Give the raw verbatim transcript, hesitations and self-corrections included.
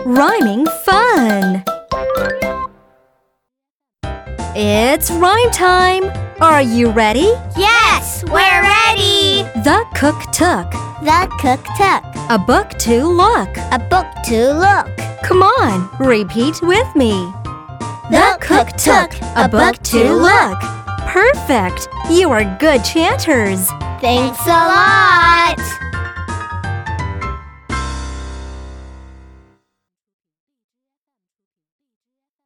Rhyming fun! It's rhyme time! Are you ready? Yes, we're ready! The cook took The cook took a book to look. a book to look. Come on, repeat with me. The cook took a book to look. Perfect! You are good chanters. Thanks a lot!